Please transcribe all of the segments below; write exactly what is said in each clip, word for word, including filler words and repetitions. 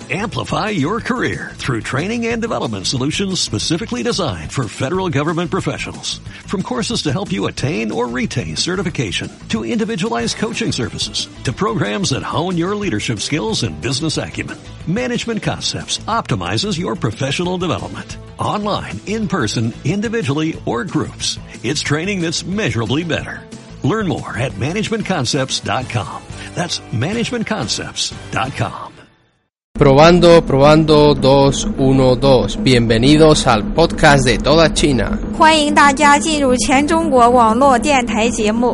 Amplify your career through training and development solutions specifically designed for federal government professionals. From courses to help you attain or retain certification, to individualized coaching services, to programs that hone your leadership skills and business acumen, Management Concepts optimizes your professional development. Online, in person, individually, or groups, it's training that's measurably better. Learn more at management concepts dot com. That's management concepts dot com. Probando, probando, dos, uno, dos. Bienvenidos al podcast de toda China. 欢迎大家进入全中国网络电台节目。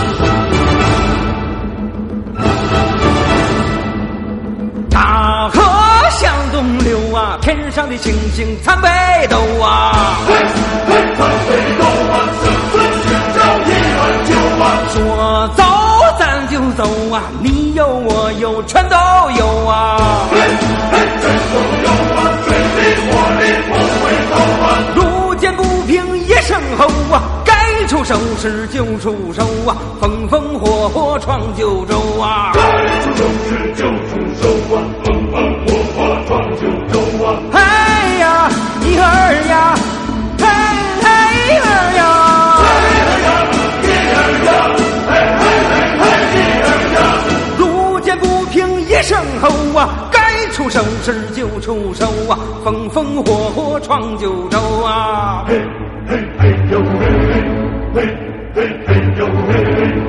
大河向东流啊，天上的星星参北斗啊。嘿，嘿，参北斗啊，生存寻找一碗酒啊。说走咱就走啊，你有我有全都有啊。嘿，嘿，全都有啊，水里火里不回头啊。路见不平一声吼啊，该出手时就出手啊，风风火火闯九州啊。该出手时就出手啊，风风火火闯九州啊。哎呀，一儿呀，嘿嘿儿呀。一声吼啊，该出手时就出手啊，风风火火闯九州啊！嘿嘿嘿呦嘿嘿嘿嘿嘿呦嘿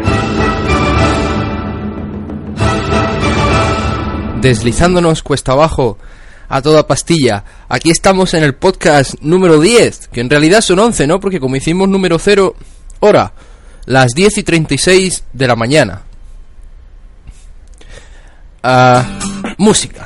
嘿。 Deslizándonos cuesta abajo a toda pastilla. Aquí estamos en el podcast número diez, que en realidad son once, ¿no? Porque como hicimos número cero, hora, las diez y treinta y seis de la mañana. Uh, música.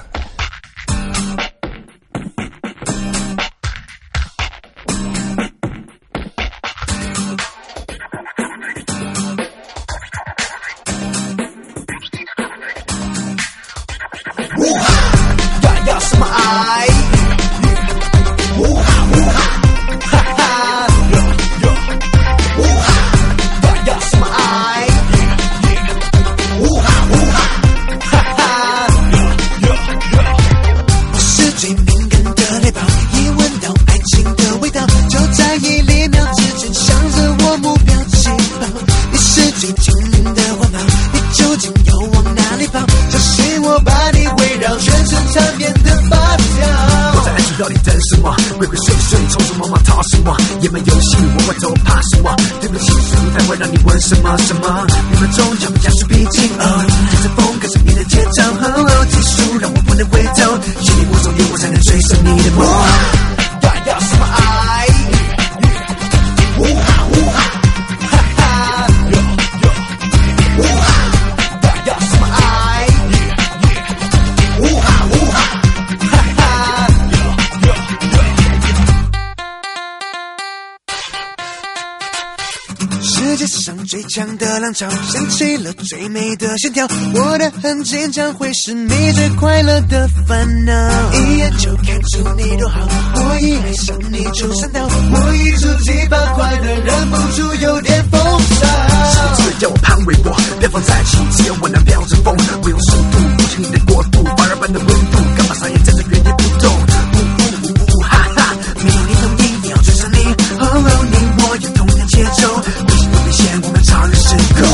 掀起了最美的线条，我的很坚强，会是你最快乐的烦恼。一眼就看出你多好，我一爱上你就上当，我一触即发，快得忍不住有点疯骚。是不是要我攀围我，别放在一起，只有我能飙着风，我用速度不经你的国度，发热般的温度，干嘛傻眼站在原地不动？呜呜呜呜哈哈，没有你同意，你要追上你，哦哦，你我有同样节奏，微信都变现，我们超越时空。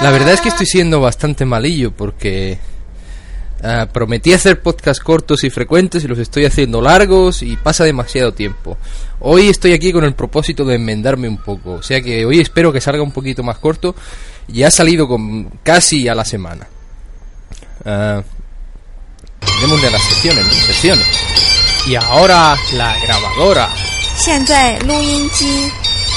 La verdad es que estoy siendo bastante malillo porque uh, prometí hacer podcasts cortos y frecuentes y los estoy haciendo largos y pasa demasiado tiempo. Hoy estoy aquí con el propósito de enmendarme un poco, o sea que hoy espero que salga un poquito más corto y ha salido con casi a la semana. Uh, démosle a las secciones, ¿no? Secciones. Y ahora la grabadora. 现在录音机。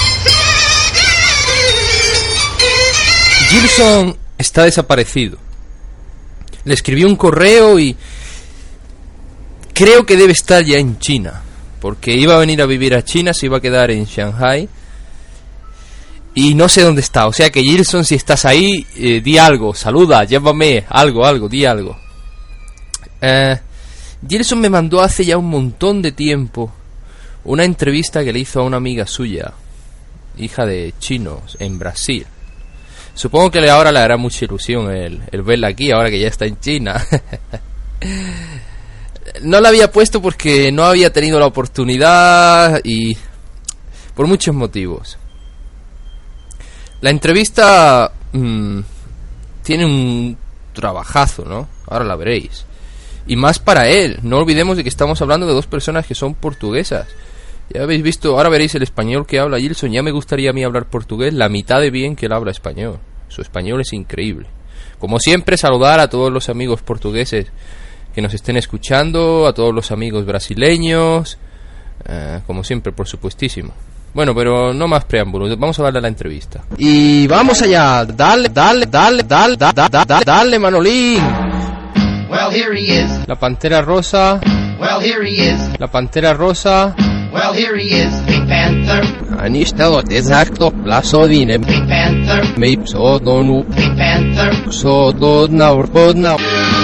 Gilson está desaparecido. Le escribí un correo y creo que debe estar ya en China, porque iba a venir a vivir a China, se iba a quedar en Shanghai y no sé dónde está. O sea que Gilson, si estás ahí, eh, di algo, saluda, llámame, algo, algo, di algo. Eh, Gilson me mandó hace ya un montón de tiempo una entrevista que le hizo a una amiga suya, hija de chinos, en Brasil. Supongo que ahora le hará mucha ilusión el, el verla aquí, ahora que ya está en China. No la había puesto porque no había tenido la oportunidad y por muchos motivos. La entrevista mmm, tiene un trabajazo, ¿no? Ahora la veréis. Y más para él. No olvidemos de que estamos hablando de dos personas que son portuguesas. Ya habéis visto, ahora veréis el español que habla Gilson. Ya me gustaría a mí hablar portugués la mitad de bien que él habla español. Su español es increíble. Como siempre, saludar a todos los amigos portugueses que nos estén escuchando, a todos los amigos brasileños, eh, como siempre, por supuestísimo. Bueno, pero no más preámbulos, vamos a darle a la entrevista. Y vamos allá, dale, dale, dale, dale, dale, dale, dale, Manolín. Well, here he is. La Pantera Rosa. Well, here he is. La Pantera Rosa. Well, here he is. Pink Panther. Они что exacto пласовine. Pink Panther. Me psodonu. Pink Panther. Psodona urpodna.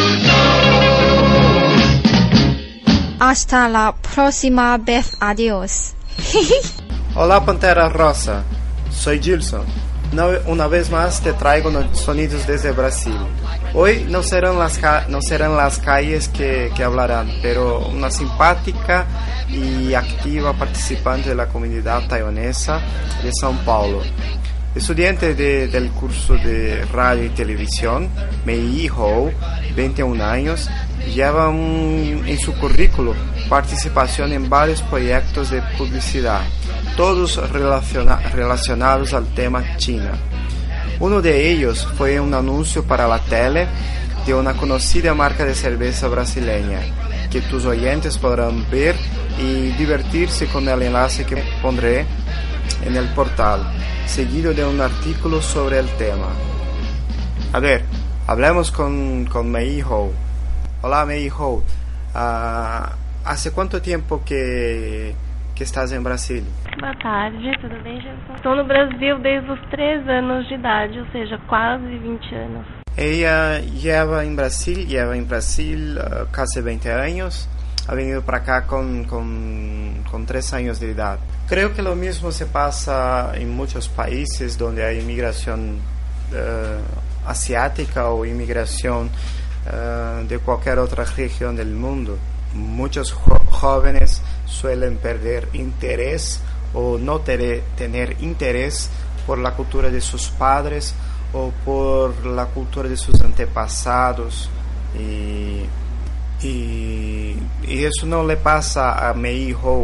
Hasta la próxima vez. Adiós. Olá, Pantera Rosa. Soy Gilson. Una vez más te traigo sonidos desde Brasil. Hoy no serán las, ca no serán las calles que, que hablarán, pero una simpática y activa participante de la comunidad taiwanesa de São Paulo. Estudiante de, del curso de radio y televisión, Mei Ho, veintiún años, lleva un, en su currículo participación en varios proyectos de publicidad, todos relaciona relacionados al tema China. Uno de ellos fue un anuncio para la tele de una conocida marca de cerveza brasileña, que tus oyentes podrán ver y divertirse con el enlace que pondré en el portal, seguido de un artículo sobre el tema. A ver, hablemos con, con Mei Ho. Hola, Mei Ho. Uh, ¿Hace cuánto tiempo que, que estás en Brasil? Boa tarde, tudo bem, Gilson? Estou no Brasil desde os três anos de idade, ou seja, quase vinte anos. Ella lleva en Brasil, lleva en Brasil uh, casi veinte años. Ha venido para acá con, con, con tres años de edad. Creo que lo mismo se pasa en muchos países donde hay inmigración uh, asiática o inmigración uh, de cualquier otra región del mundo. Muchos jo jóvenes suelen perder interés o no tere, tener interés por la cultura de sus padres o por la cultura de sus antepasados y, y, y eso no le pasa a Mei Ho.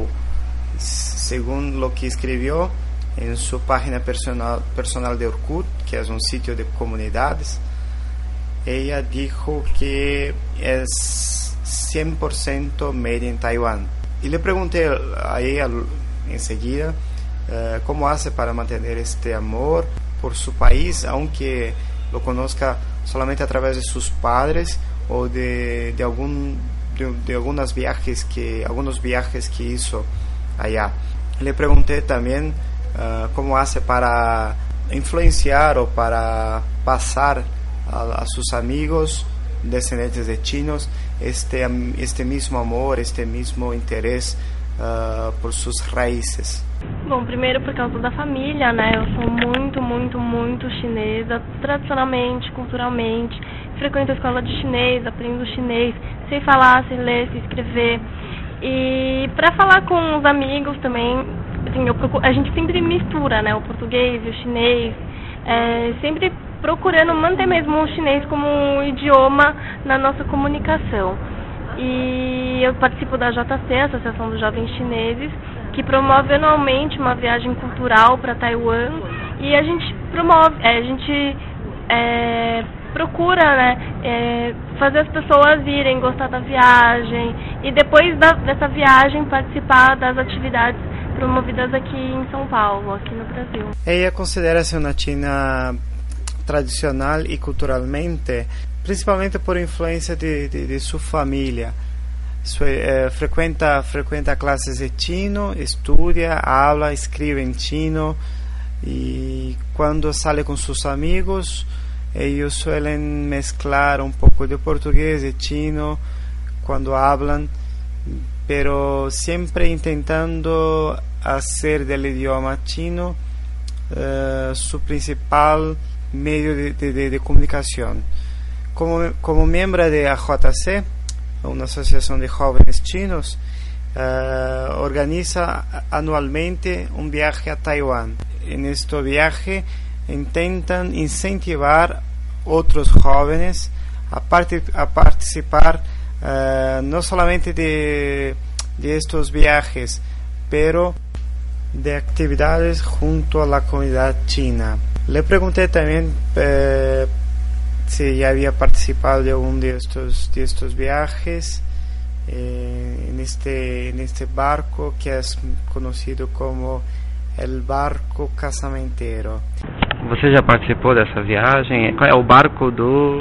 Según lo que escribió en su página personal, personal de Orkut, que es un sitio de comunidades, ella dijo que es cien por ciento made in Taiwan. Y le pregunté a ella enseguida uh, cómo hace para mantener este amor por su país, aunque lo conozca solamente a través de sus padres o de, de, algún, de, de algunos viajes que, algunos viajes que hizo allá. Le pregunté también uh, cómo hace para influenciar o para pasar a, a sus amigos descendientes de chinos este, este mismo amor, este mismo interés uh, por sus raíces. Bom, primeiro por causa da família, né? Eu sou muito, muito, muito chinesa, tradicionalmente, culturalmente. Frequento a escola de chinês, aprendo chinês, sei falar, sei ler, sei escrever. E para falar com os amigos também, assim, eu procuro, a gente sempre mistura, né? O português e o chinês. É, sempre procurando manter mesmo o chinês como um idioma na nossa comunicação. E eu participo da J C, Associação dos Jovens Chineses, que promove anualmente uma viagem cultural para Taiwan, e a gente promove, é, a gente é, procura, né, é, fazer as pessoas irem, gostar da viagem, e depois da, dessa viagem participar das atividades promovidas aqui em São Paulo, aqui no Brasil. Ella considera-se uma china tradicional e culturalmente, principalmente por influência de, de, de sua família. Su, eh, frequenta, frequenta classes de chino, estudia, habla, escribe em chino, e quando sale com seus amigos, ellos suelen mezclar un poco de portugués y chino cuando hablan, pero siempre intentando hacer del idioma chino uh, su principal medio de, de, de comunicación. Como, como miembro de A J C, una asociación de jóvenes chinos, uh, organiza anualmente un viaje a Taiwán. En este viaje intentan incentivar otros jóvenes a, part a participar uh, no solamente de, de estos viajes, pero de actividades junto a la comunidad china. Le pregunté también eh, si ya había participado de algún de estos, de estos viajes eh, en, este, en este barco que es conocido como el barco casamentero. Você já participou dessa viagem? Qual é o barco do...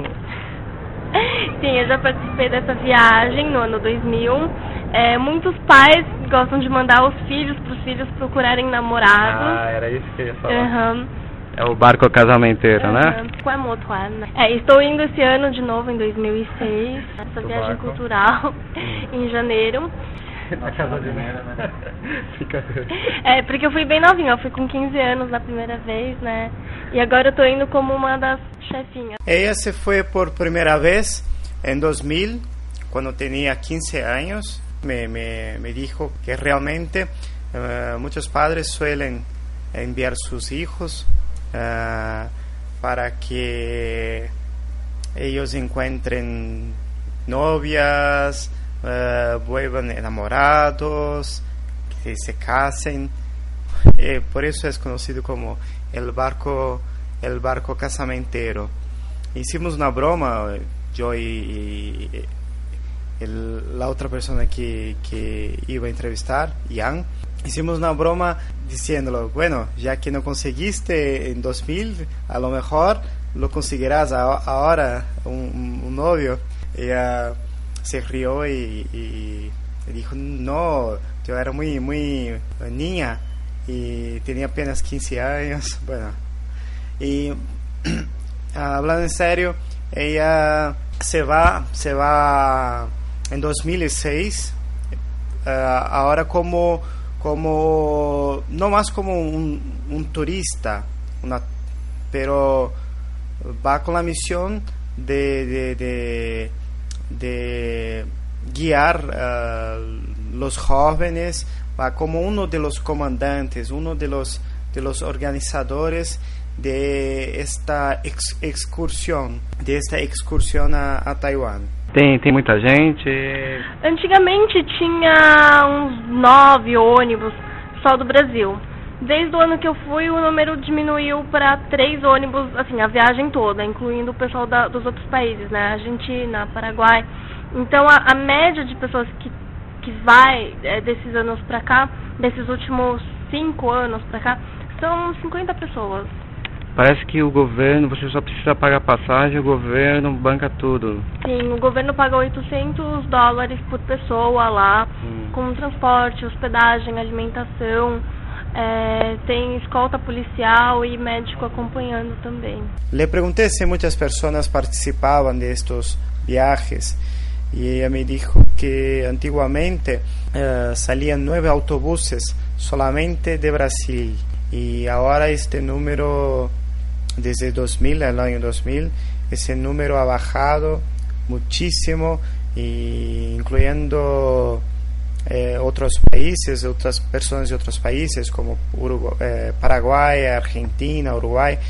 Sim, eu já participei dessa viagem no ano dois mil. É, muitos pais gostam de mandar os filhos para os filhos procurarem namorados. Ah, era isso que eu ia falar. Uhum. É o barco casamenteiro, uhum. né? É, estou indo esse ano de novo, em dois mil e seis, essa o viagem barco. cultural, em janeiro. Na casa de Nera, né? Fica... É, porque eu fui bem novinha, eu fui com quinze anos na primeira vez, né? E agora eu tô indo como uma das chefinhas. Ella se fue por primera vez en dos mil, cuando tenía quince años. Me, me, me dijo que realmente uh, muchos padres suelen enviar sus hijos uh, para que ellos encuentren novias, Uh, vuelvan enamorados, que se casen. Eh, por eso es conocido como el barco, el barco casamentero. Hicimos una broma, yo y, y el, la otra persona que, que iba a entrevistar, Yang, hicimos una broma diciéndolo, bueno, ya que no conseguiste en dos mil, a lo mejor lo conseguirás a, ahora un, un novio. Ella se rió y, y dijo, no, yo era muy, muy niña y tenía apenas quince años. Bueno, y hablando en serio, ella se va, se va en dos mil seis, uh, ahora como, como, no más como un, un turista, una, pero va con la misión de, de, de de guiar uh, los jóvenes, va como uno de los comandantes, uno de los de los organizadores de esta ex excursión, de esta excursión a, a Taiwán. Tem, tem muita gente? Antigamente tinha uns nove ônibus só do Brasil. Desde o ano que eu fui, o número diminuiu para três ônibus, assim, a viagem toda, incluindo o pessoal da, dos outros países, né? Argentina, Paraguai. Então, a, a média de pessoas que, que vai é, desses anos para cá, desses últimos cinco anos para cá, são cinquenta pessoas. Parece que o governo, você só precisa pagar passagem, o governo banca tudo. Sim, o governo paga oitocentos dólares por pessoa lá, hum. com transporte, hospedagem, alimentação. É, tem escolta policial e médico acompanhando também. Le pregunté si muchas personas participaban de estos viajes y ella me dijo que antiguamente uh, salían nueve autobuses solamente de Brasil y ahora este número, desde dos mil, el año dos mil, ese número ha bajado muchísimo, y incluyendo Eh, otros países, otras personas de otros países como Uruguay, eh, Paraguay, Argentina, Uruguay,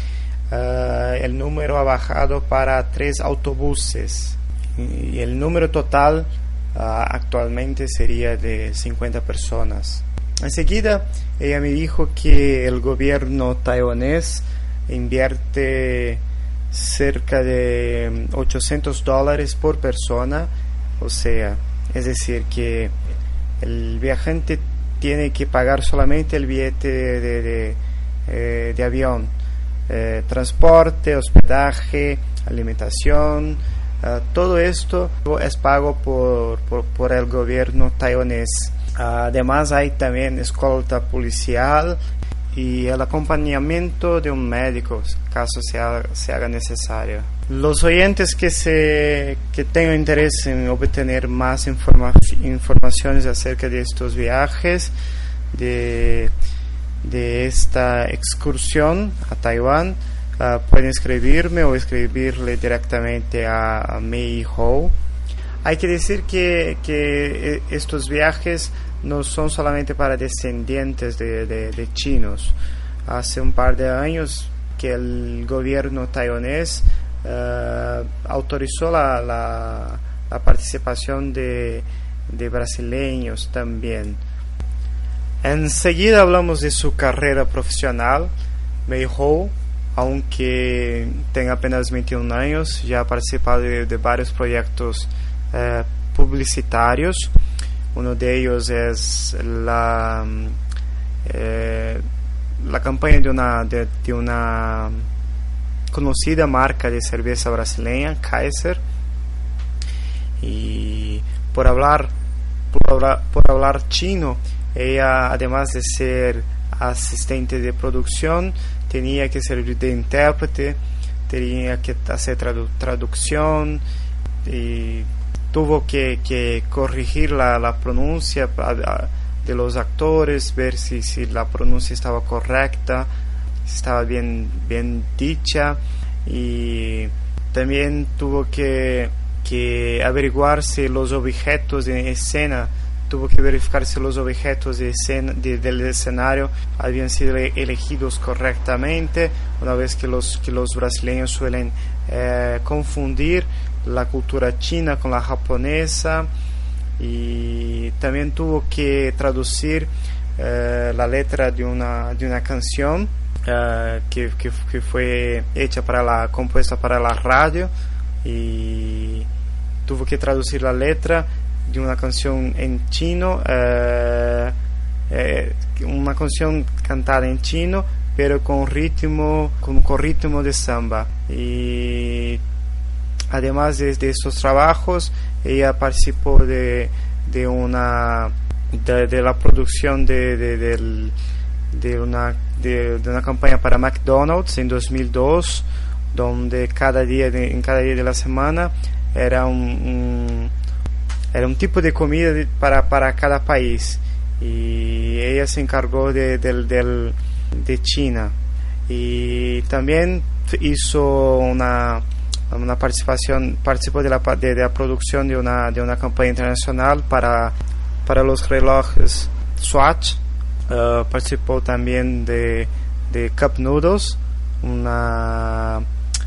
uh, el número ha bajado para tres autobuses y el número total uh, actualmente sería de cincuenta personas. Enseguida ella me dijo que el gobierno taiwanés invierte cerca de ochocientos dólares por persona, o sea, es decir que el viajante tiene que pagar solamente el billete de, de, de, eh, de avión, eh, transporte, hospedaje, alimentación, eh, todo esto es pago por, por, por el gobierno taiwanés. Además hay también escolta policial y el acompañamiento de un médico, caso se haga, se haga necesario. Los oyentes que, se, que tengan interés en obtener más informa, informaciones acerca de estos viajes, de, de esta excursión a Taiwán, uh, pueden escribirme o escribirle directamente a, a Mei Ho. Hay que decir que, que estos viajes no son solamente para descendientes de, de, de chinos. Hace un par de años que el gobierno taiwanés uh, autorizó la, la, la participación de, de brasileños también. Enseguida hablamos de su carrera profesional. Mei Ho, aunque tenga apenas veintiún años, ya ha participado de, de varios proyectos uh, publicitarios. Uno de ellos es la, eh, la campaña de una, de, de una conocida marca de cerveza brasileña, Kaiser. Y por hablar, por hablar, por hablar chino, ella, además de ser asistente de producción, tenía que servir de intérprete, tenía que hacer tradu- traducción y tuvo que, que corregir la, la pronuncia de los actores, ver si, si la pronuncia estaba correcta, si estaba bien, bien dicha, y también tuvo que, que averiguar si los objetos en escena, tuvo que verificar si los objetos de escena, de, del escenario habían sido elegidos correctamente, una vez que los, que los brasileños suelen eh, confundir la cultura china con la japonesa, y también tuvo que traducir eh, la letra de una, de una canción eh, que, que, que fue hecha para la, compuesta para la radio, y tuvo que traducir la letra de una canción en chino, eh, eh, una canción cantada en chino pero con ritmo, con, con ritmo de samba. Y además de, de estos trabajos, ella participó de, de una de, de la producción de, de, de, de, una, de, de una campaña para McDonald's en dos mil dos, donde cada día de, en cada día de la semana era un, un era un tipo de comida de, para, para cada país, y ella se encargó de, de, de, de China, y también hizo una una participación, participó de la, de, de la producción de una, de una campaña internacional para, para los relojes Swatch. Uh, participó también de, de Cup Noodles, una,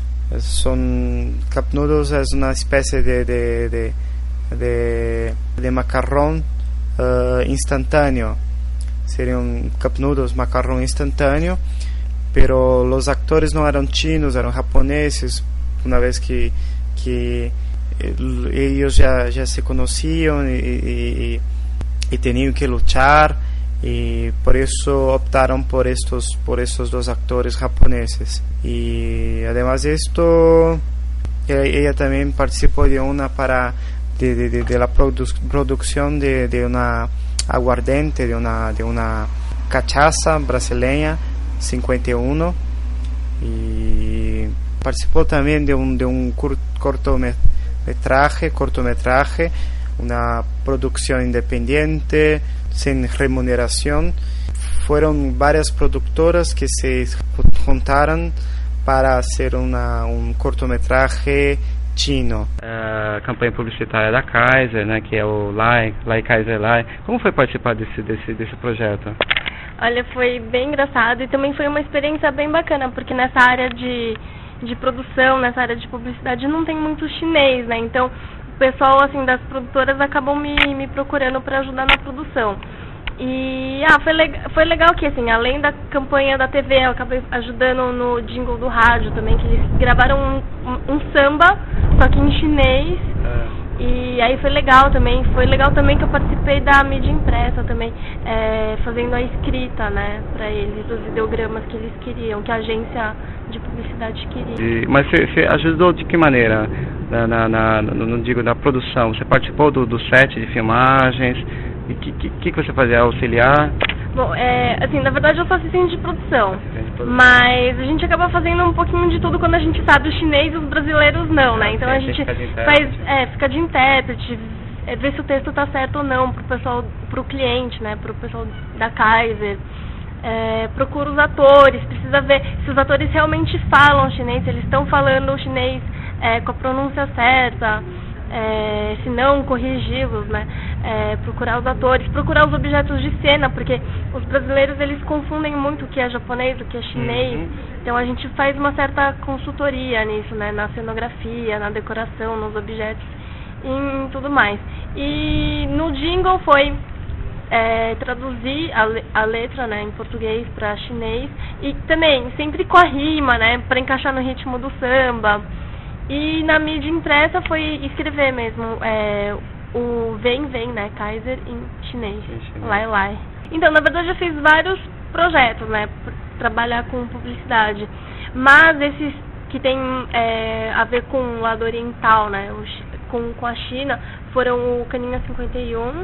son, Cup Noodles es una especie de, de, de, de, de macarrón uh, instantáneo, sería un Cup Noodles macarrón instantáneo, pero los actores no eran chinos, eran japoneses, una vez que, que ellos ya, ya se conocían y, y, y tenían que luchar, y por eso optaron por estos, por estos dos actores japoneses. Y además de esto, ella, ella también participó de una para de, de, de, de la produ- producción de, de una aguardiente, de una, de una cachaza brasileña cincuenta y uno, y participó también de un, de un cur- cortometraje, cortometraje, una producción independiente, sin remuneración. Fueron varias productoras que se juntaron para hacer una, un cortometraje chino. A campanha publicitária da Kaiser, né, que é o Lai, Lai Kaiser Lai. Como foi participar desse, desse, desse projeto? Olha, foi bem engraçado e também foi uma experiência bem bacana, porque nessa área de, de produção, nessa área de publicidade, não tem muito chinês, né? Então, o pessoal, assim, das produtoras acabam me, me procurando para ajudar na produção. E, ah, foi, le- foi legal que, assim, além da campanha da T V, eu acabei ajudando no jingle do rádio também, que eles gravaram um, um, um samba, só que em chinês. É. E aí foi legal também, foi legal também que eu participei da mídia impressa também, é, fazendo a escrita, né, para eles, dos ideogramas que eles queriam, que a agência de publicidade queria. E, mas você ajudou de que maneira, na, na, na, no, não digo, na produção? Você participou do, do set de filmagens? E o que, que, que você fazia? Auxiliar? Bom, é, assim, na verdade eu sou assistente de produção, mas a gente acaba fazendo um pouquinho de tudo quando a gente sabe o chinês e os brasileiros não, né? Então a gente faz, é, fica de intérprete, é, ver se o texto tá certo ou não pro pessoal, pro cliente, né? Pro pessoal da Kaiser. É, procura os atores, precisa ver se os atores realmente falam chinês, se eles estão falando o chinês é, com a pronúncia certa. É, se não, corrigi-los, né? É, procurar os atores, procurar os objetos de cena, porque os brasileiros eles confundem muito o que é japonês, o que é chinês. Uhum. Então a gente faz uma certa consultoria nisso, né? Na cenografia, na decoração, nos objetos e em tudo mais. E no jingle foi é, traduzir a, le- a letra, né, em português para chinês e também sempre com a rima, né? Para encaixar no ritmo do samba. E na mídia impressa foi escrever mesmo é, o Vem Vem, né, Kaiser em chinês, Lai Lai. Então, na verdade, eu fiz vários projetos, né, para trabalhar com publicidade. Mas esses que tem é, a ver com o lado oriental, né, o, com, com a China, foram o Caninha cinquenta e um,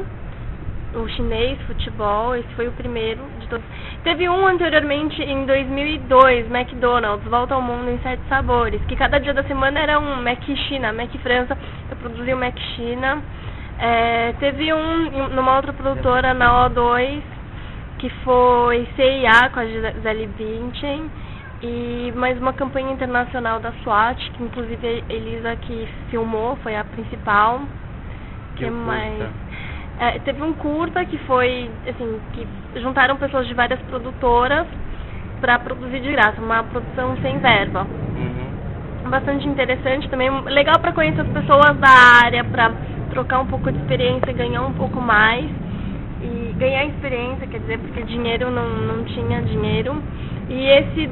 o chinês, futebol, esse foi o primeiro de todos. Teve um anteriormente em dois mil e dois, McDonald's, Volta ao Mundo em Sete Sabores, que cada dia da semana era um Mac China, Mac França, eu produzi o Mac China. É, teve um numa outra produtora, na O dois, que foi C I A com a Gisele Bündchen, e mais uma campanha internacional da SWAT, que inclusive a Elisa que filmou, foi a principal. Que, que mais... É, teve um curta que foi, assim, que juntaram pessoas de várias produtoras para produzir de graça, uma produção sem verba. Uhum. Bastante interessante também, legal para conhecer as pessoas da área, para trocar um pouco de experiência, ganhar um pouco mais. E ganhar experiência, quer dizer, porque dinheiro não, não tinha dinheiro. E esse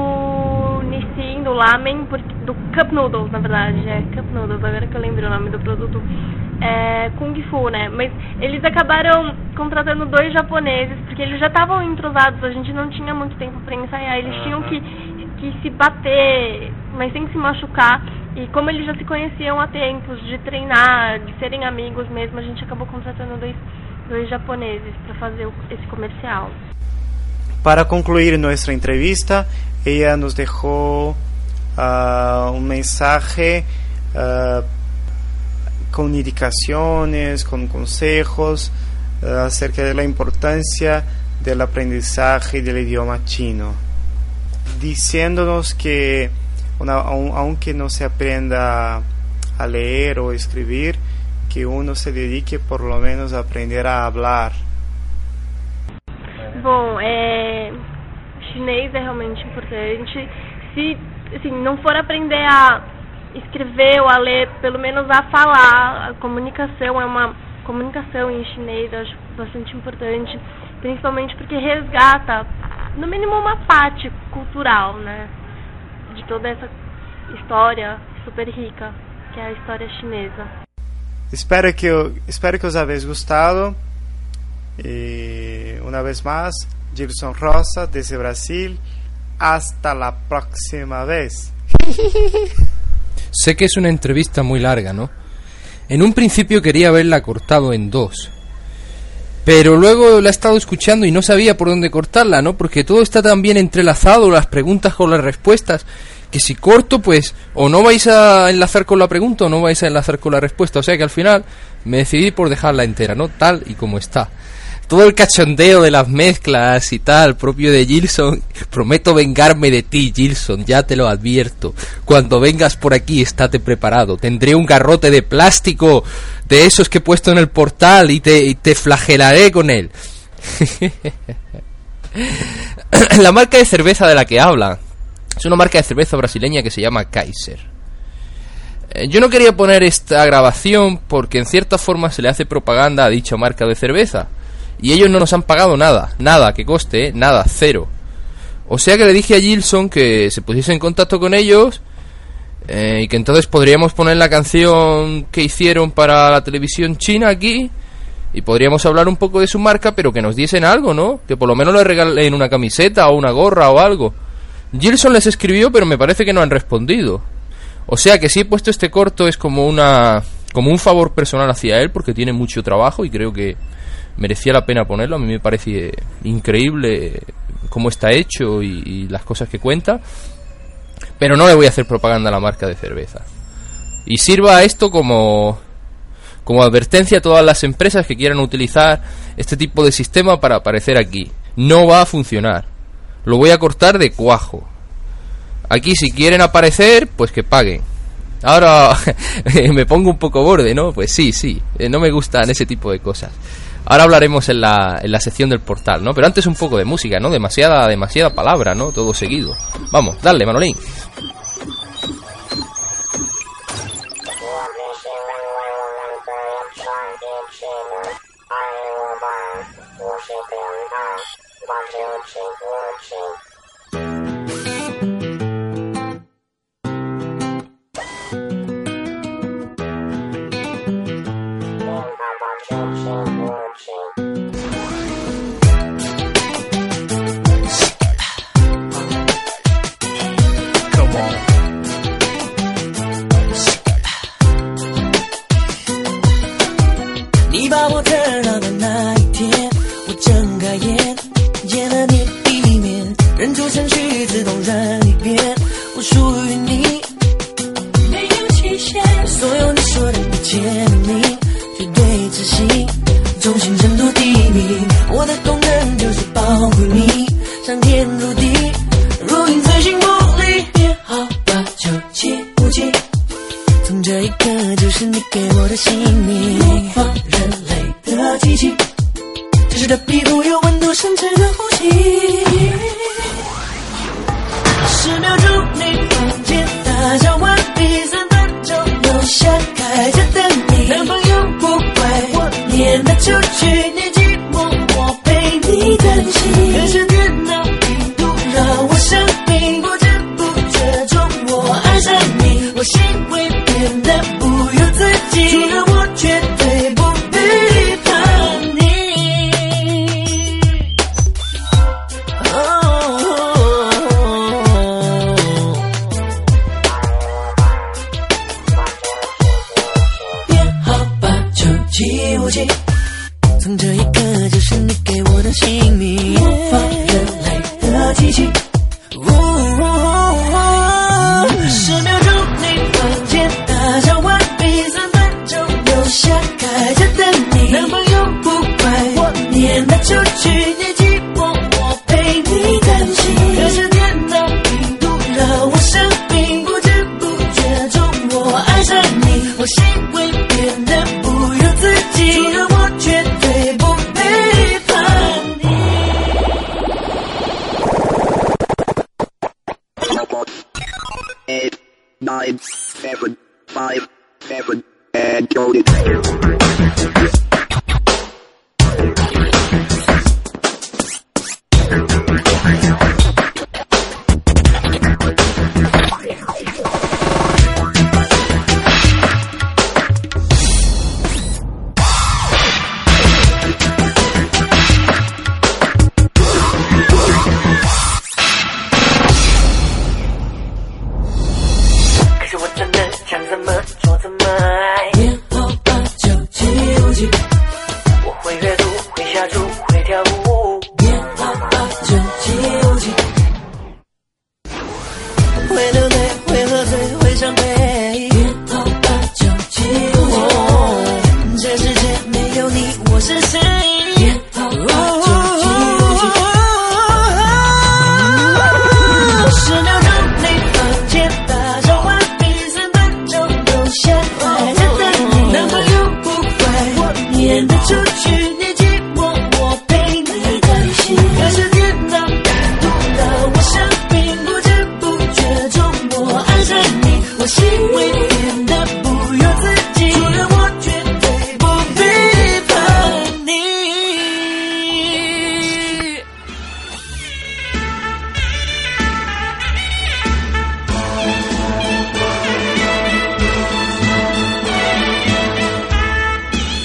do Nissin, do Lamen, do Cup Noodles, na verdade, é Cup Noodles, agora que eu lembro o nome do produto, é Kung Fu, né? Mas eles acabaram contratando dois japoneses, porque eles já estavam entrosados, a gente não tinha muito tempo para ensaiar, eles tinham que, que se bater, mas sem se machucar. E como eles já se conheciam há tempos, de treinar, de serem amigos mesmo, a gente acabou contratando dois, dois japoneses para fazer o, esse comercial. Para concluir nuestra entrevista, ella nos dejó uh, un mensaje uh, con indicaciones, con consejos uh, acerca de la importancia del aprendizaje del idioma chino, diciéndonos que una, aunque no se aprenda a leer o escribir, que uno se dedique por lo menos a aprender a hablar. Bom, é, chinês é realmente importante. Se assim, não for aprender a escrever ou a ler, pelo menos a falar, a comunicação é uma comunicação em chinês, eu acho bastante importante, principalmente porque resgata, no mínimo, uma parte cultural, né, de toda essa história super rica que é a história chinesa. Espero que, espero que os habéis gostado. Y una vez más, Gilson Rosa desde Brasil. Hasta la próxima vez. Sé que es una entrevista muy larga, ¿no? En un principio quería haberla cortado en dos, pero luego la he estado escuchando y no sabía por dónde cortarla, ¿no? Porque todo está tan bien entrelazado, las preguntas con las respuestas, que si corto, pues o no vais a enlazar con la pregunta o no vais a enlazar con la respuesta. O sea que al final me decidí por dejarla entera, ¿no? Tal y como está. Todo el cachondeo de las mezclas y tal, propio de Gilson. Prometo vengarme de ti, Gilson, ya te lo advierto. Cuando vengas por aquí, estate preparado. Tendré un garrote de plástico, de esos que he puesto en el portal, y te, y te flagelaré con él. La marca de cerveza de la que habla es una marca de cerveza brasileña que se llama Kaiser. Eh, yo no quería poner esta grabación porque en cierta forma se le hace propaganda a dicha marca de cerveza. Y ellos no nos han pagado nada, nada, que coste, ¿eh? Nada, cero. O sea que le dije a Gilson que se pusiese en contacto con ellos eh, y que entonces podríamos poner la canción que hicieron para la televisión china aquí y podríamos hablar un poco de su marca, pero que nos diesen algo, ¿no? Que por lo menos le regalen una camiseta o una gorra o algo. Gilson les escribió, pero me parece que no han respondido. O sea que si he puesto este corto es como una como un favor personal hacia él, porque tiene mucho trabajo y creo que merecía la pena ponerlo. A mí me parece increíble cómo está hecho y, y las cosas que cuenta, pero no le voy a hacer propaganda a la marca de cerveza. Y sirva esto como como advertencia a todas las empresas que quieran utilizar este tipo de sistema para aparecer aquí. No va a funcionar. Lo voy a cortar de cuajo. Aquí si quieren aparecer, pues que paguen. Ahora me pongo un poco borde, ¿no? Pues sí, sí, no me gustan ese tipo de cosas. Ahora hablaremos en la, en la sección del portal, ¿no? Pero antes un poco de música, ¿no? Demasiada, demasiada palabra, ¿no? Todo seguido. Vamos, dale, Manolín.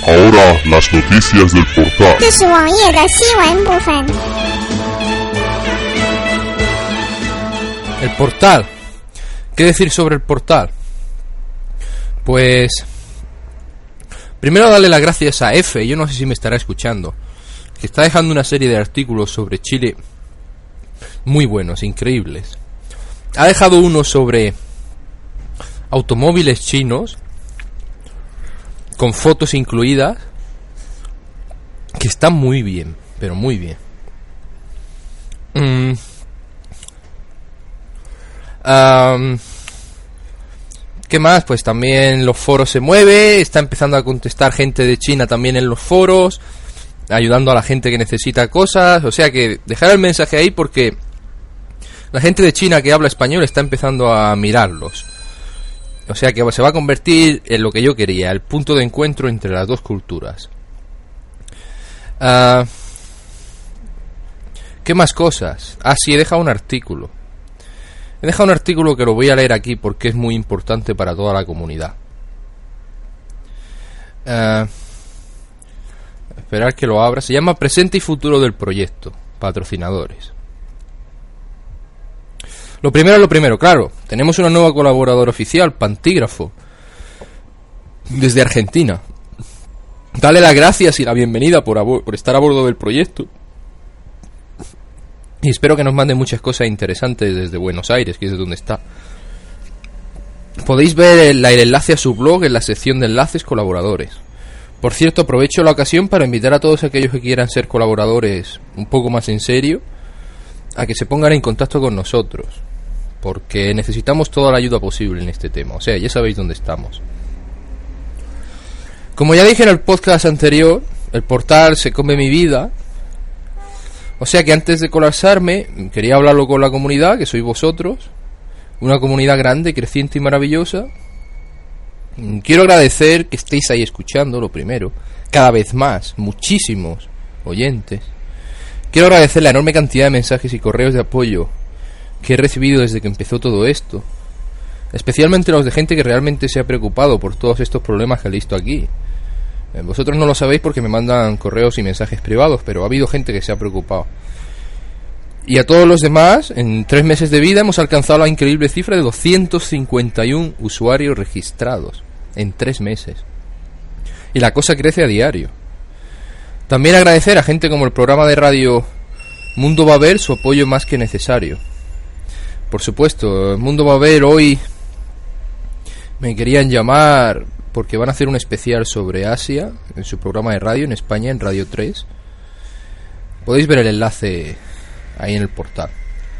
Ahora las noticias del portal. 这是网页的新闻部分。 El portal. ¿Qué decir sobre el portal? Pues... primero darle las gracias a F, yo no sé si me estará escuchando, que está dejando una serie de artículos sobre Chile muy buenos, increíbles. Ha dejado uno sobre automóviles chinos, con fotos incluidas, que están muy bien, pero muy bien. Mm. Um, ¿Qué más? Pues también los foros se mueve, está empezando a contestar gente de China también en los foros, ayudando a la gente que necesita cosas. O sea que dejar el mensaje ahí porque la gente de China que habla español está empezando a mirarlos. O sea que se va a convertir en lo que yo quería, el punto de encuentro entre las dos culturas. Uh, ¿Qué más cosas? Ah, sí, he dejado un artículo. He dejado un artículo que lo voy a leer aquí porque es muy importante para toda la comunidad. Uh, esperar que lo abra. Se llama Presente y Futuro del Proyecto. Patrocinadores. Lo primero es lo primero, claro. Tenemos una nueva colaboradora oficial, Pantígrafo, desde Argentina. Dale las gracias y la bienvenida por, a, por estar a bordo del proyecto. Y espero que nos mande muchas cosas interesantes desde Buenos Aires, que es de donde está. Podéis ver el, el enlace a su blog en la sección de enlaces colaboradores. Por cierto, aprovecho la ocasión para invitar a todos aquellos que quieran ser colaboradores un poco más en serio a que se pongan en contacto con nosotros, porque necesitamos toda la ayuda posible en este tema. O sea, ya sabéis dónde estamos. Como ya dije en el podcast anterior, el portal se come mi vida. O sea que antes de colapsarme, quería hablarlo con la comunidad, que sois vosotros. Una comunidad grande, creciente y maravillosa. Quiero agradecer que estéis ahí escuchando, lo primero. Cada vez más, muchísimos oyentes. Quiero agradecer la enorme cantidad de mensajes y correos de apoyo que he recibido desde que empezó todo esto. Especialmente los de gente que realmente se ha preocupado por todos estos problemas que he visto aquí. Vosotros no lo sabéis porque me mandan correos y mensajes privados, pero ha habido gente que se ha preocupado. Y a todos los demás, en tres meses de vida hemos alcanzado la increíble cifra de doscientos cincuenta y uno usuarios registrados en tres meses. Y la cosa crece a diario. También agradecer a gente como el programa de radio Mundo va a ver su apoyo más que necesario. Por supuesto, Mundo va a ver hoy me querían llamar porque van a hacer un especial sobre Asia en su programa de radio en España, en Radio tres. Podéis ver el enlace ahí en el portal.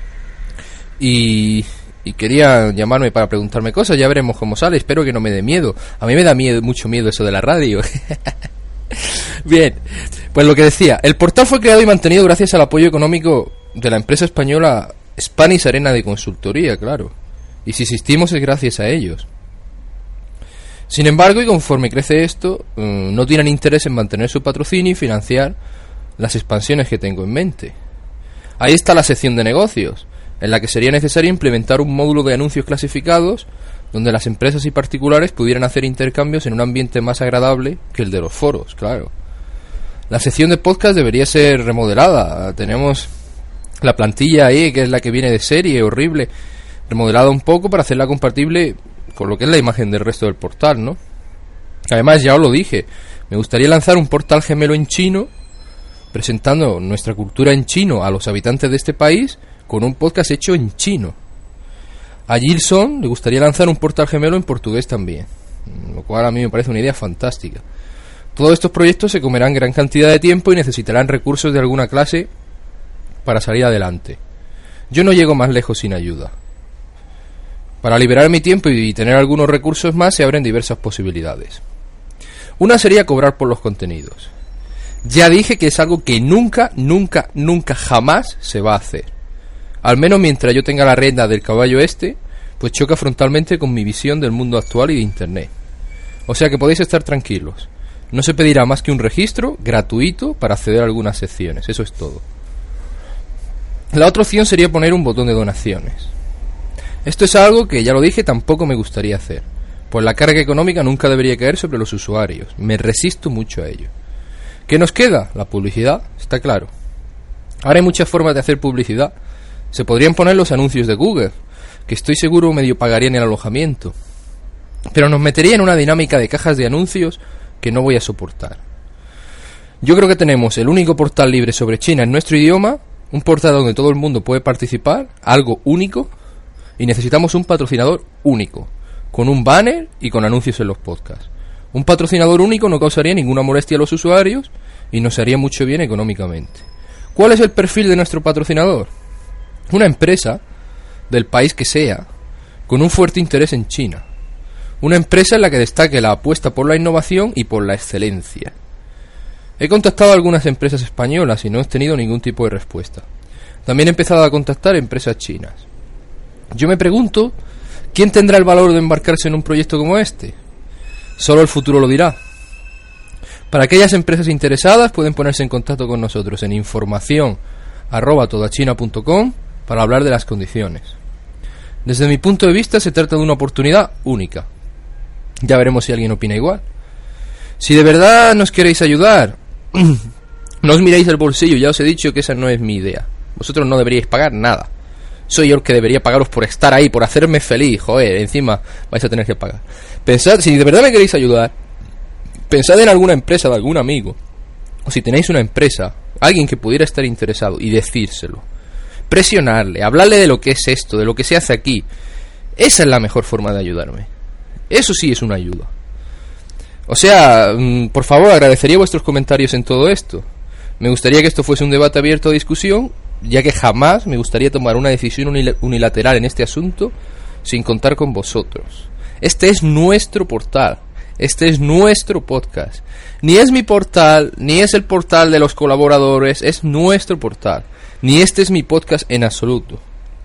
Y, y quería llamarme para preguntarme cosas, ya veremos cómo sale, espero que no me dé miedo. A mí me da miedo, mucho miedo eso de la radio. Bien, pues lo que decía, el portal fue creado y mantenido gracias al apoyo económico de la empresa española Spanish Arena de Consultoría, claro. Y si existimos es gracias a ellos. Sin embargo, y conforme crece esto, no tienen interés en mantener su patrocinio y financiar las expansiones que tengo en mente. Ahí está la sección de negocios, en la que sería necesario implementar un módulo de anuncios clasificados donde las empresas y particulares pudieran hacer intercambios en un ambiente más agradable que el de los foros, claro. La sección de podcast debería ser remodelada. Tenemos la plantilla ahí, que es la que viene de serie, horrible, remodelada un poco para hacerla compatible con lo que es la imagen del resto del portal, ¿no? Además, ya os lo dije, me gustaría lanzar un portal gemelo en chino, presentando nuestra cultura en chino a los habitantes de este país, con un podcast hecho en chino. A Gilson le gustaría lanzar un portal gemelo en portugués también, lo cual a mí me parece una idea fantástica. Todos estos proyectos se comerán gran cantidad de tiempo y necesitarán recursos de alguna clase para salir adelante. Yo no llego más lejos sin ayuda. Para liberar mi tiempo y tener algunos recursos más se abren diversas posibilidades. Una sería cobrar por los contenidos. Ya dije que es algo que nunca, nunca, nunca, jamás se va a hacer. Al menos mientras yo tenga la rienda del caballo este, pues choca frontalmente con mi visión del mundo actual y de Internet. O sea que podéis estar tranquilos. No se pedirá más que un registro gratuito para acceder a algunas secciones. Eso es todo. La otra opción sería poner un botón de donaciones. Esto es algo que, ya lo dije, tampoco me gustaría hacer. pues la carga económica nunca debería caer sobre los usuarios. Me resisto mucho a ello. ¿Qué nos queda? La publicidad, está claro. Ahora hay muchas formas de hacer publicidad. Se podrían poner los anuncios de Google, que estoy seguro medio pagarían el alojamiento. Pero nos metería en una dinámica de cajas de anuncios que no voy a soportar. Yo creo que tenemos el único portal libre sobre China en nuestro idioma, un portal donde todo el mundo puede participar, algo único, y necesitamos un patrocinador único, con un banner y con anuncios en los podcasts. Un patrocinador único no causaría ninguna molestia a los usuarios y nos haría mucho bien económicamente. ¿Cuál es el perfil de nuestro patrocinador? Una empresa, del país que sea, con un fuerte interés en China. Una empresa en la que destaque la apuesta por la innovación y por la excelencia. He contactado a algunas empresas españolas y no he tenido ningún tipo de respuesta. También he empezado a contactar empresas chinas. Yo me pregunto, ¿quién tendrá el valor de embarcarse en un proyecto como este? Solo el futuro lo dirá. Para aquellas empresas interesadas pueden ponerse en contacto con nosotros en información arroba todachina punto com para hablar de las condiciones. Desde mi punto de vista se trata de una oportunidad única. Ya veremos si alguien opina igual. Si de verdad nos queréis ayudar, no os miréis el bolsillo, ya os he dicho que esa no es mi idea. Vosotros no deberíais pagar nada. Soy yo el que debería pagaros por estar ahí, por hacerme feliz. Joder, encima vais a tener que pagar. Pensad, si de verdad me queréis ayudar, pensad en alguna empresa de algún amigo. O si tenéis una empresa, alguien que pudiera estar interesado, y decírselo. Presionarle, hablarle de lo que es esto, de lo que se hace aquí. Esa es la mejor forma de ayudarme. Eso sí es una ayuda. O sea, por favor, agradecería vuestros comentarios en todo esto. Me gustaría que esto fuese un debate abierto a discusión, ya que jamás me gustaría tomar una decisión unilateral en este asunto sin contar con vosotros. Este es nuestro portal, este es nuestro podcast. Ni es mi portal, ni es el portal de los colaboradores, es nuestro portal. Ni este es mi podcast en absoluto.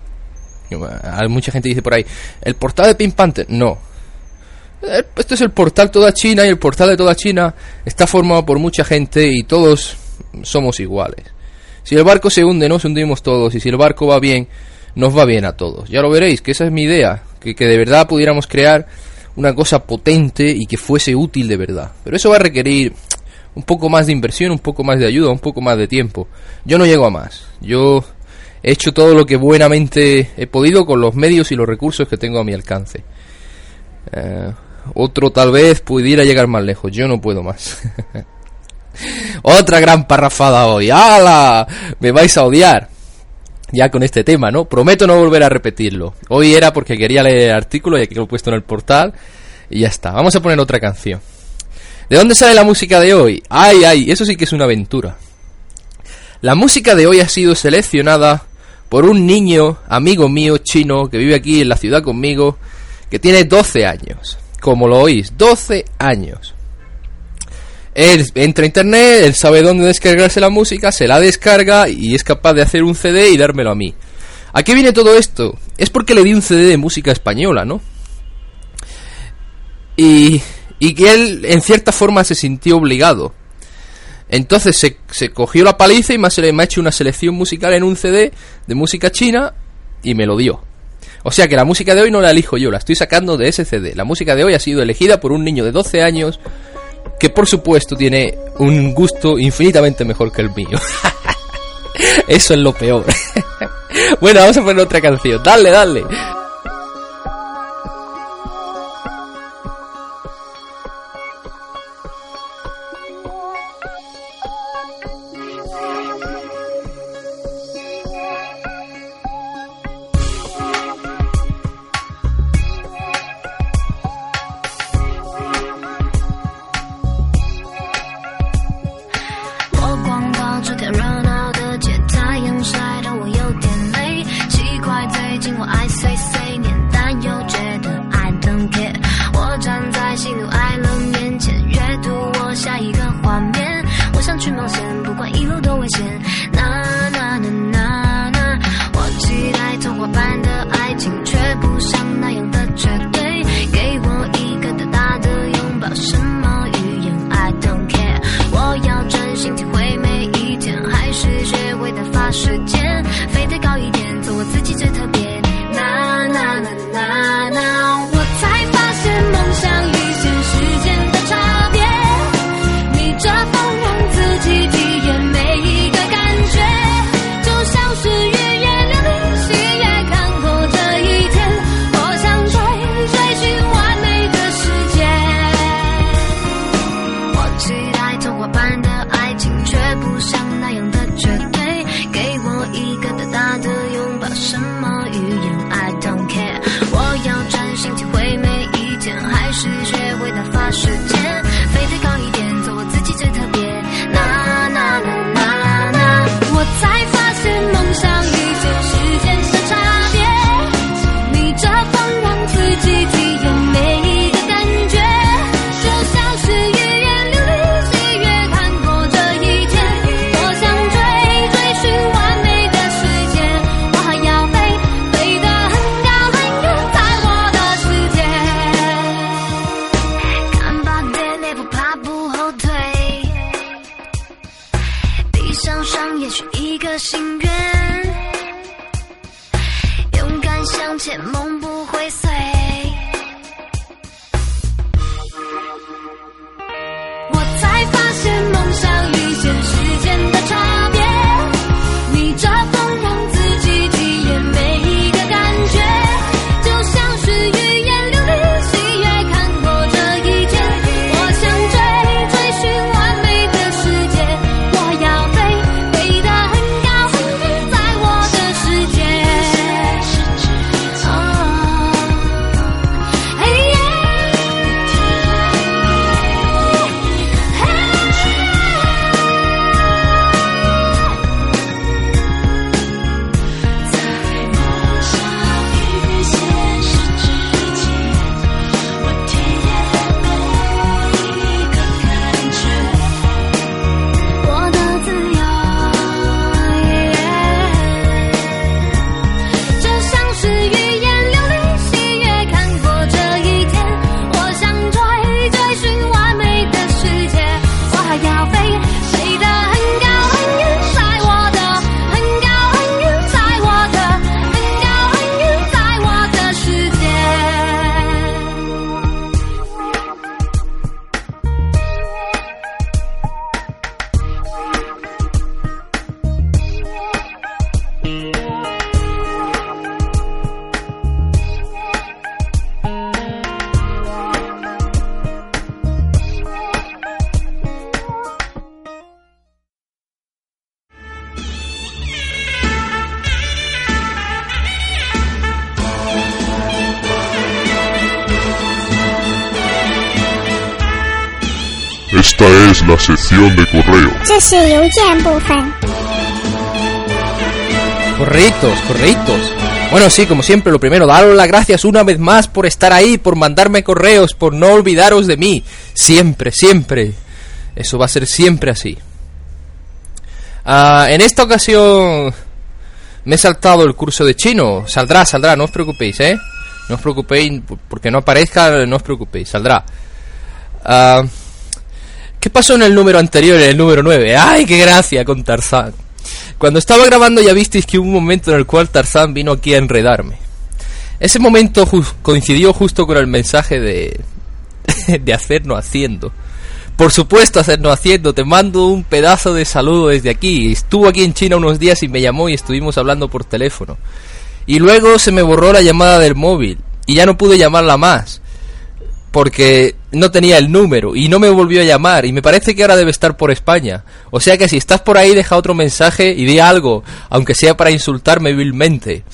Mucha gente dice por ahí, ¿el portal de Pink Panther? No. Esto es el portal Toda China, y el portal de Toda China está formado por mucha gente y todos somos iguales. Si el barco se hunde, nos hundimos todos, y si el barco va bien, nos va bien a todos. Ya lo veréis, que esa es mi idea, que, que de verdad pudiéramos crear una cosa potente y que fuese útil de verdad. Pero eso va a requerir un poco más de inversión, un poco más de ayuda, un poco más de tiempo. Yo no llego a más. Yo he hecho todo lo que buenamente he podido con los medios y los recursos que tengo a mi alcance. Eh, otro tal vez pudiera llegar más lejos. Yo no puedo más. Otra gran parrafada hoy. ¡Hala! Me vais a odiar ya con este tema, ¿no? Prometo no volver a repetirlo. Hoy era porque quería leer el artículo y aquí lo he puesto en el portal y ya está. Vamos a poner otra canción. ¿De dónde sale la música de hoy? ¡Ay, ay! Eso sí que es una aventura. La música de hoy ha sido seleccionada por un niño, amigo mío, chino, que vive aquí en la ciudad conmigo, que tiene doce años. Como lo oís, doce años. Él entra a internet, él sabe dónde descargarse la música, se la descarga y es capaz de hacer un C D y dármelo a mí. ¿A qué viene todo esto? Es porque le di un C D de música española, ¿no? Y, y que él en cierta forma se sintió obligado. Entonces se, se cogió la paliza y me ha, me ha hecho una selección musical en un C D de música china y me lo dio. O sea que la música de hoy no la elijo yo, la estoy sacando de ese C D. La música de hoy ha sido elegida por un niño de doce años que por supuesto tiene un gusto infinitamente mejor que el mío. Eso es lo peor. Bueno, vamos a poner otra canción. Dale, dale. I say say 发时间，飞得高一点，做我自己最特别。那那那那那，我才发现梦想与现实间的差别，逆着风让自己体验每一个感觉，就像是语言流离喜悦看过这一天。我想追追寻完美的世界，我还要飞飞得很高很远，在我的世界。看吧，爹，不怕不后退，闭上双眼许一个心愿，勇敢向前，梦不会碎。我才发现梦想与现实间的差别，逆着风让自己体验每一个感觉，就像是语言流离喜悦看过这一天。我想追追寻完美的世界，我要飞飞得很高很远，在我的世界。嘿耶，我的自由，就像是语言流离喜悦看过这一天。我想追追寻完美的世界，我还要飞飞得很高很远，在我的很高很远，在我的很高很远，在我的世界。 Esta es la sección de correo. 这是邮件部分。 Correitos, correitos. Bueno, sí, como siempre, lo primero, daros las gracias una vez más por estar ahí, por mandarme correos, por no olvidaros de mí. Siempre, siempre. Eso va a ser siempre así. Ah, en esta ocasión me he saltado el curso de chino. Saldrá, saldrá, no os preocupéis, ¿eh? No os preocupéis, porque no aparezca, no os preocupéis, saldrá. Ah... ¿Qué pasó en el número anterior, en el número nueve? ¡Ay, qué gracia con Tarzán! Cuando estaba grabando ya visteis que hubo un momento en el cual Tarzán vino aquí a enredarme. Ese momento ju- coincidió justo con el mensaje de... de hacernos haciendo. Por supuesto, hacernos haciendo. Te mando un pedazo de saludo desde aquí. Estuvo aquí en China unos días y me llamó y estuvimos hablando por teléfono. Y luego se me borró la llamada del móvil y ya no pude llamarla más, porque no tenía el número y no me volvió a llamar, y me parece que ahora debe estar por España. O sea que si estás por ahí, deja otro mensaje y di algo, aunque sea para insultarme vilmente.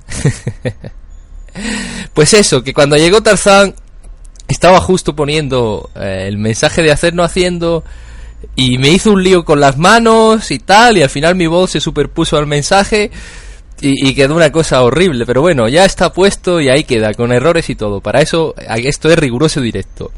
Pues eso, que cuando llegó Tarzán estaba justo poniendo eh, el mensaje de hacernos haciendo, y me hizo un lío con las manos y tal, y al final mi voz se superpuso al mensaje y, y quedó una cosa horrible. Pero bueno, ya está puesto y ahí queda, con errores y todo. Para eso, esto es riguroso directo.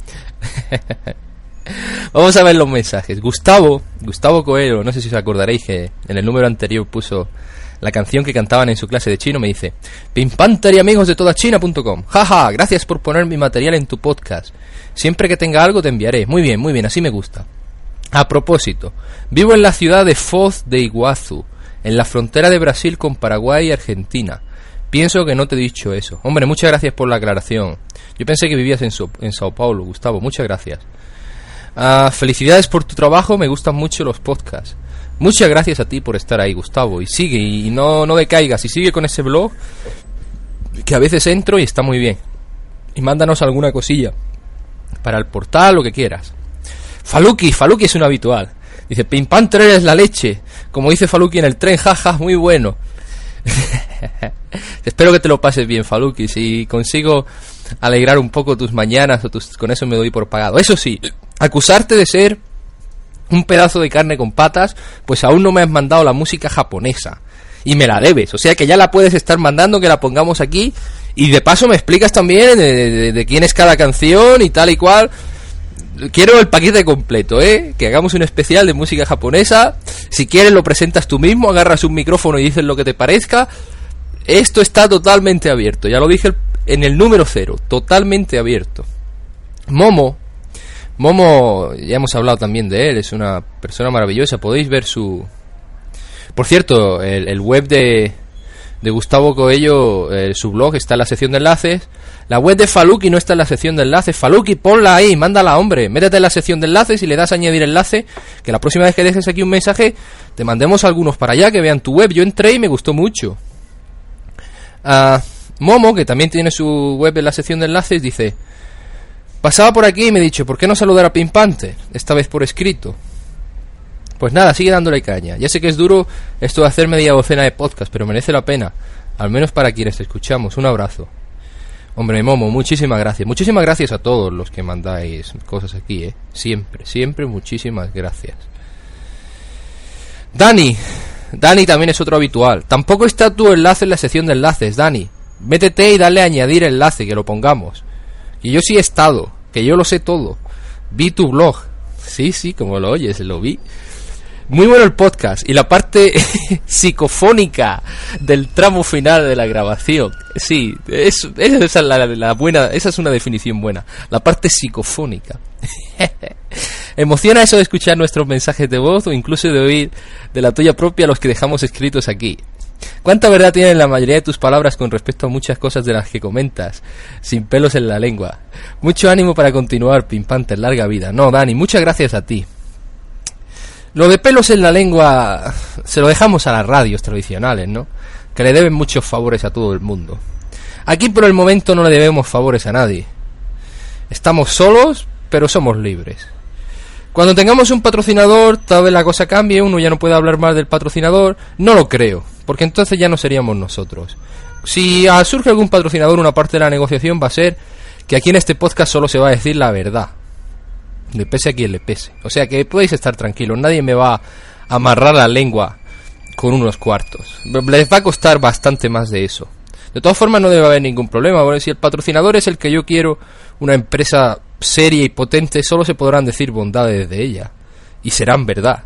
Vamos a ver los mensajes. Gustavo, Gustavo Coelho, no sé si os acordaréis que en el número anterior puso la canción que cantaban en su clase de chino. Me dice: Pimpanter y amigos de toda China punto com. Jaja, gracias por poner mi material en tu podcast. Siempre que tenga algo te enviaré. Muy bien, muy bien, así me gusta. A propósito, vivo en la ciudad de Foz de Iguazú, en la frontera de Brasil con Paraguay y Argentina. Pienso que no te he dicho eso. Hombre, muchas gracias por la aclaración. Yo pensé que vivías en, so en Sao Paulo, Gustavo. Muchas gracias. Uh, felicidades por tu trabajo, me gustan mucho los podcasts. Muchas gracias a ti por estar ahí, Gustavo. Y sigue, y no, no decaigas. Y sigue con ese blog, que a veces entro y está muy bien. Y mándanos alguna cosilla para el portal, lo que quieras. Faluki, Faluki es un habitual. Dice: Pimpanter es la leche. Como dice Faluki en el tren, jaja, muy bueno. Espero que te lo pases bien, Faluki. Si consigo alegrar un poco tus mañanas o tus, con eso me doy por pagado. Eso sí, acusarte de ser un pedazo de carne con patas, pues aún no me has mandado la música japonesa y me la debes, o sea que ya la puedes estar mandando, que la pongamos aquí y de paso me explicas también de, de, de quién es cada canción y tal y cual. Quiero el paquete completo, ¿eh? Que hagamos un especial de música japonesa. Si quieres lo presentas tú mismo, agarras un micrófono y dices lo que te parezca. Esto está totalmente abierto, ya lo dije en el número cero, totalmente abierto. Momo, Momo, ya hemos hablado también de él, es una persona maravillosa, podéis ver su... Por cierto, el, el web de, de Gustavo Coello, eh, su blog está en la sección de enlaces. La web de Faluki no está en la sección de enlaces. Faluki, ponla ahí, mándala, hombre. Métete en la sección de enlaces y le das a añadir enlace. Que la próxima vez que dejes aquí un mensaje, te mandemos algunos para allá, que vean tu web. Yo entré y me gustó mucho. Uh, Momo, que también tiene su web en la sección de enlaces, dice: pasaba por aquí y me he dicho, ¿por qué no saludar a Pink Panther? Esta vez por escrito. Pues nada, sigue dándole caña. Ya sé que es duro esto de hacer media docena de podcasts, pero merece la pena. Al menos para quienes te escuchamos. Un abrazo. Hombre, Momo, muchísimas gracias. Muchísimas gracias a todos los que mandáis cosas aquí, ¿eh? Siempre, siempre muchísimas gracias. Dani. Dani también es otro habitual. Tampoco está tu enlace en la sección de enlaces, Dani. Métete y dale a añadir enlace, que lo pongamos. Y yo sí he estado, que yo lo sé todo. Vi tu blog. Sí, sí, como lo oyes, lo vi. Muy bueno el podcast y la parte psicofónica del tramo final de la grabación. Sí, es, esa es la, la buena, esa es una definición buena. La parte psicofónica. Emociona eso de escuchar nuestros mensajes de voz o incluso de oír de la tuya propia los que dejamos escritos aquí. ¿Cuánta verdad tienen la mayoría de tus palabras con respecto a muchas cosas de las que comentas? Sin pelos en la lengua. Mucho ánimo para continuar, Pink Panther, larga vida. No, Dani, muchas gracias a ti. Lo de pelos en la lengua se lo dejamos a las radios tradicionales, ¿no? Que le deben muchos favores a todo el mundo. Aquí por el momento no le debemos favores a nadie. Estamos solos, pero somos libres. Cuando tengamos un patrocinador, tal vez la cosa cambie, uno ya no puede hablar más del patrocinador. No lo creo, porque entonces ya no seríamos nosotros. Si surge algún patrocinador, una parte de la negociación va a ser que aquí en este podcast solo se va a decir la verdad. Le pese a quien le pese. O sea que podéis estar tranquilos, nadie me va a amarrar la lengua con unos cuartos. Les va a costar bastante más de eso. De todas formas no debe haber ningún problema, porque si el patrocinador es el que yo quiero, una empresa seria y potente, solo se podrán decir bondades de ella. Y serán verdad.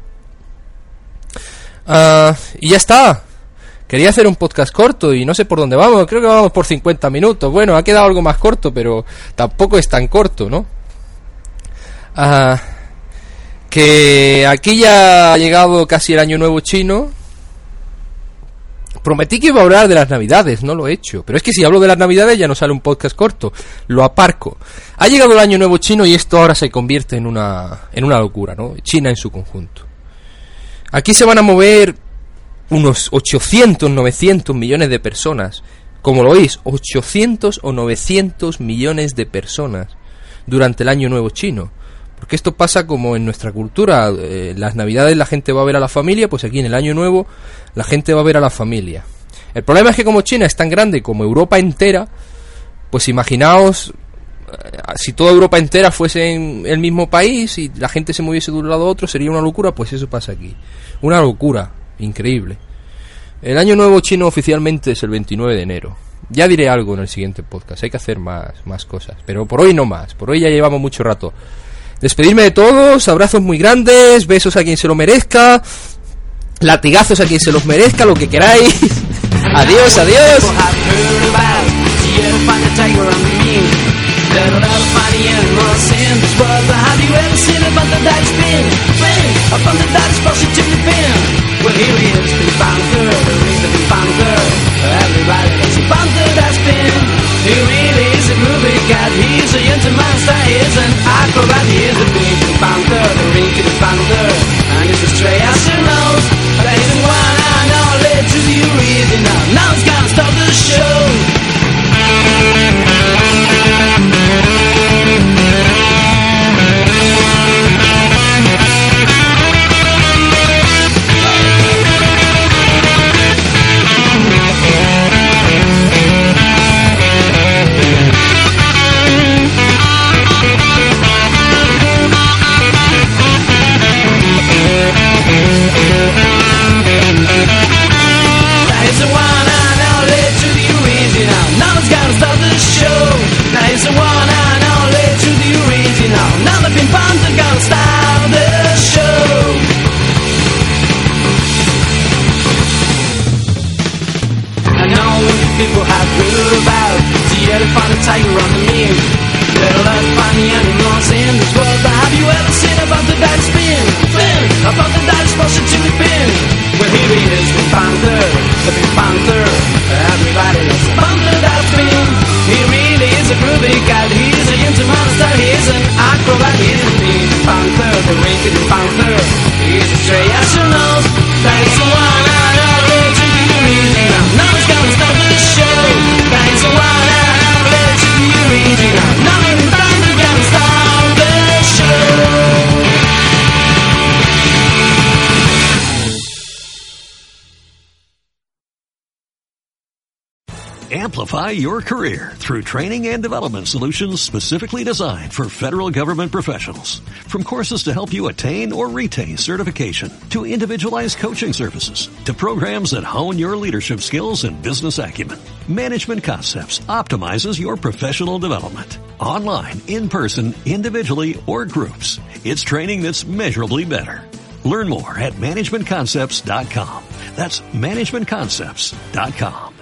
Uh, y ya está. Quería hacer un podcast corto y no sé por dónde vamos. Creo que vamos por cincuenta minutos. Bueno, ha quedado algo más corto, pero tampoco es tan corto, ¿no? Uh, que aquí ya ha llegado casi el año nuevo chino. Prometí que iba a hablar de las navidades, no lo he hecho. Pero es que si hablo de las navidades ya no sale un podcast corto. Lo aparco. Ha llegado el año nuevo chino y esto ahora se convierte en una, en una locura, ¿no? China en su conjunto. Aquí se van a mover unos ochocientos, novecientos millones de personas. Como lo oís, ochocientos o novecientos millones de personas durante el año nuevo chino. Porque esto pasa como en nuestra cultura. Eh, las navidades la gente va a ver a la familia, pues aquí en el año nuevo la gente va a ver a la familia. El problema es que como China es tan grande como Europa entera, pues imaginaos eh, si toda Europa entera fuese en el mismo país y la gente se moviese de un lado a otro, sería una locura. Pues eso pasa aquí, una locura increíble. El año nuevo chino oficialmente es el veintinueve de enero. Ya diré algo en el siguiente podcast, hay que hacer más, más cosas, pero por hoy no más, por hoy ya llevamos mucho rato. Despedirme de todos, abrazos muy grandes, besos a quien se lo merezca, latigazos a quien se los merezca, lo que queráis. Adiós, adiós. He's a young monster, he's an acrobat, he's a big bouncer, the rink of the founder, and he's a stray ass who knows that he's the one I know led to the original. Now it's gonna stop the show. Amplify your career through training and development solutions specifically designed for federal government professionals. From courses to help you attain or retain certification, to individualized coaching services, to programs that hone your leadership skills and business acumen, Management Concepts optimizes your professional development. Online, in person, individually, or groups, it's training that's measurably better. Learn more at management concepts dot com. That's management concepts dot com.